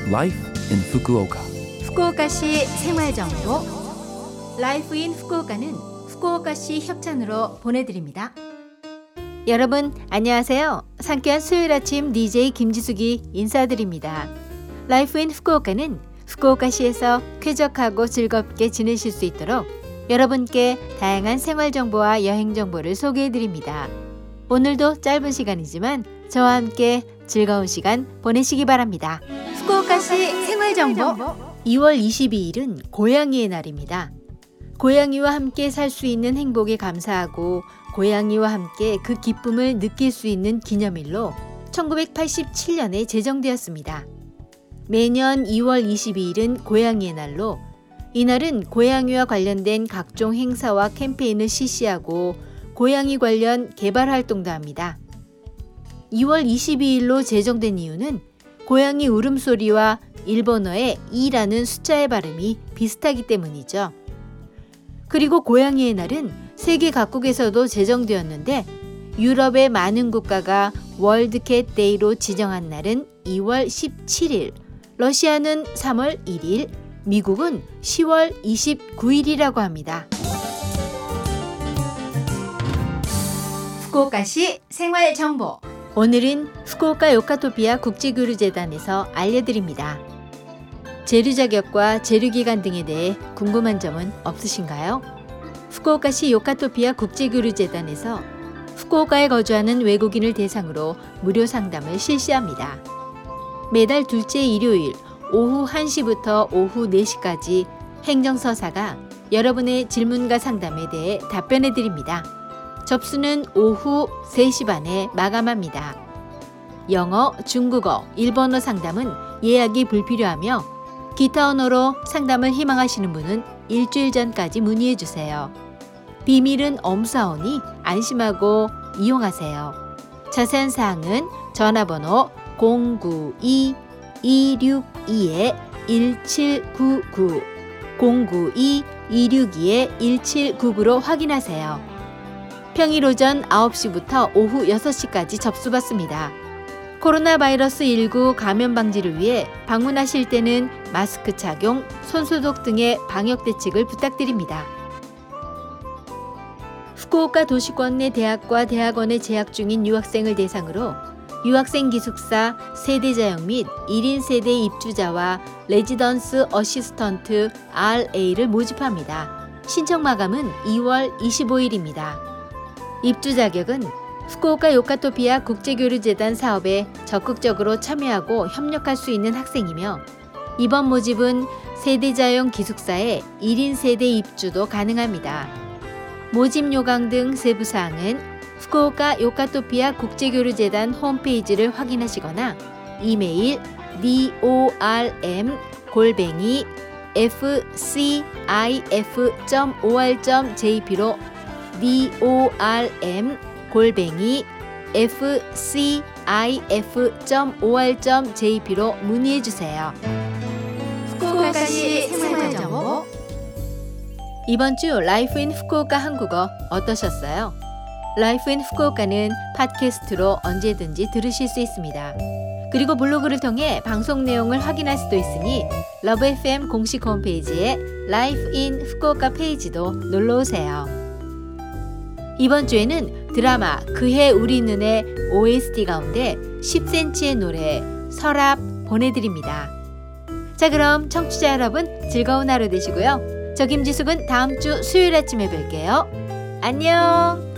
Life in Fukuoka. 후쿠오카시 생활정보 라이프 인 후쿠오카는 후쿠오카시 협찬으로 보내드립니다. 여러분 안녕하세요. 상쾌한 수요일 아침 DJ 김지숙이 인사드립니다. 라이프 인 후쿠오카는 후쿠오카시에서 쾌적하고 즐겁게 지내실 수 있도록 여러분께 다양한 생활정보와 여행정보를 소개해드립니다. 오늘도 짧은 시간이지만 저와 함께 즐거운 시간 보내시기 바랍니다. 후쿠오카시 생활정보 2월 22일은 고양이의 날입니다. 고양이와 함께 살 수 있는 행복에 감사하고 고양이와 함께 그 기쁨을 느낄 수 있는 기념일로 1987년에 제정되었습니다. 매년 2월 22일은 고양이의 날로 이날은 고양이와 관련된 각종 행사와 캠페인을 실시하고 고양이 관련 개발 활동도 합니다. 2월 22일로 제정된 이유는 고양이 울음소리와 일본어의 2라는 숫자의 발음이 비슷하기 때문이죠. 그리고 고양이의 날은 세계 각국에서도 제정되었는데 유럽의 많은 국가가 월드캣 데이로 지정한 날은 2월 17일, 러시아는 3월 1일, 미국은 10월 29일이라고 합니다. 후쿠오카시 생활정보 오늘은 후쿠오카 요카토피아 국제교류재단에서 알려드립니다. 재류 자격과 재류 기간 등에 대해 궁금한 점은 없으신가요? 후쿠오카시 요카토피아 국제교류재단에서 후쿠오카에 거주하는 외국인을 대상으로 무료 상담을 실시합니다. 매달 둘째 일요일 오후 1시부터 오후 4시까지 행정서사가 여러분의 질문과 상담에 대해 답변해 드립니다. 접수는 오후 3시 반에 마감합니다. 영어, 중국어, 일본어 상담은 예약이 불필요하며 기타 언어로 상담을 희망하시는 분은 일주일 전까지 문의해 주세요. 비밀은 엄사오니 안심하고 이용하세요. 자세한 사항은 전화번호 092-262-1799 092-262-1799로 확인하세요. 평일 오전 9시부터 오후 6시까지 접수받습니다. 코로나 바이러스 19 감염 방지를 위해 방문하실 때는 마스크 착용, 손소독 등의 방역 대책을 부탁드립니다. 후쿠오카 도시권 내 대학과 대학원에 재학 중인 유학생을 대상으로 유학생 기숙사 세대자형 및 1인 세대 입주자와 레지던스 어시스턴트 RA를 모집합니다. 신청 마감은 2월 25일입니다. 입주 자격은 후쿠오카 요카토피아 국제교류재단 사업에 적극적으로 참여하고 협력할 수 있는 학생이며 이번 모집은 세대자용 기숙사에 1인 세대 입주도 가능합니다. 모집 요강 등 세부사항은 후쿠오카 요카토피아 국제교류재단 홈페이지를 확인하시거나 이메일 dorm@fcif.or.jp로 dorm@fcif.or.jp로 문의해 주세요. 후쿠오카시 생활정보 이번 주 라이프 인 후쿠오카 한국어 어떠셨어요? 라이프 인 후쿠오카는 팟캐스트로 언제든지 들으실 수 있습니다. 그리고 블로그를 통해 방송 내용을 확인할 수도 있으니 러브 FM 공식 홈페이지에 라이프 인 후쿠오카 페이지도 놀러오세요. 이번 주에는 드라마 그해 우리 눈의 OST 가운데 10cm의 노래 서랍 보내드립니다. 자, 그럼 청취자 여러분 즐거운 하루 되시고요. 저 김지숙은 다음 주 수요일 아침에 뵐게요. 안녕.